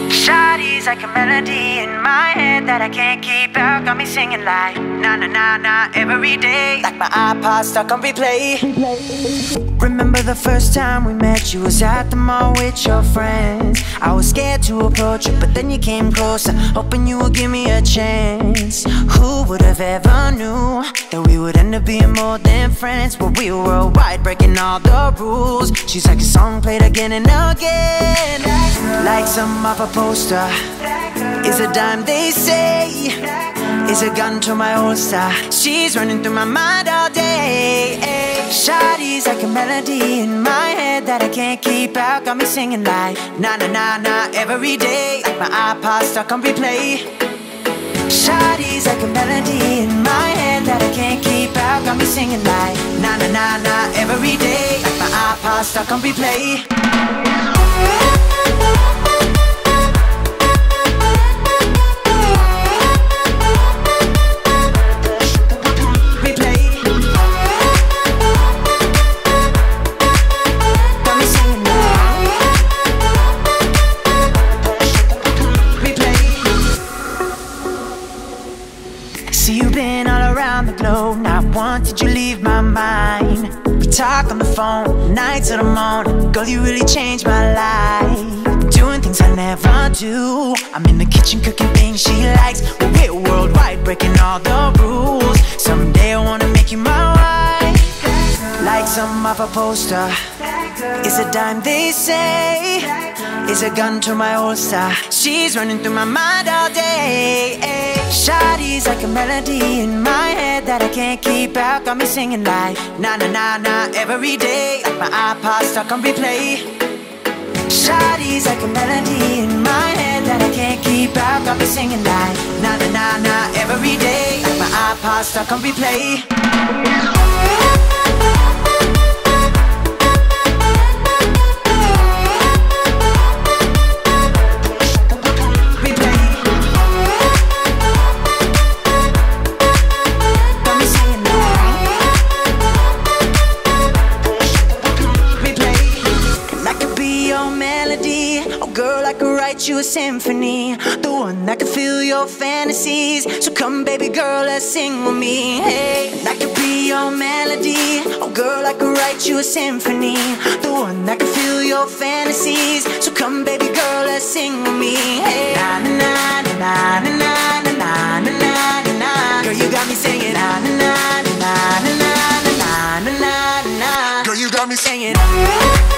Shawty's like a melody in my head that I can't keep out. Got me singing like na na na na every day, like my iPod stuck on replay. Remember the first time we met, you was at the mall with your friends. I was scared to approach you, but then you came closer, hoping you would give me a chance. Who would have ever knew that we would end up being more than friends? But we were worldwide, breaking all the rules. She's like a song played again and again, like some off a poster. Is a dime, they say, is a gun to my holster. She's running through my mind all day. Shawty's like a melody in my head that I can't keep out. Got me singing like na na na na every day, like my iPod stuck on replay. Shawty's like a melody in my head that I can't keep out. Got me singing like na na na na every day, like my iPod stuck on replay. See, you've been all around the globe, not once did you leave my mind. We talk on the phone, night to the morning. Girl, you really changed my life. Doing things I never do. I'm in the kitchen cooking things she likes. We're worldwide, breaking all the rules. Someday I wanna make you my wife, like some off a poster. Is a dime, they say, is a gun to my holster. She's running through my mind all day. Shawty's like a melody in my head that I can't keep out. Got me singing like na na na na every day, like my iPod stuck on replay. Shawty's like a melody in my head that I can't keep out. Got me singing like na na na na every day, like my iPod stuck on replay. Girl, I could write you a symphony, the one that could fill your fantasies. So come, baby girl, let's sing with me. Hey, and I could be your melody. Oh, girl, I could write you a symphony, the one that could fill your fantasies. So come, baby girl, let's sing with me. Hey, na na na na na na na na na na na. Girl, you got me singing na na na na na na na na na na. Girl, you got me singing.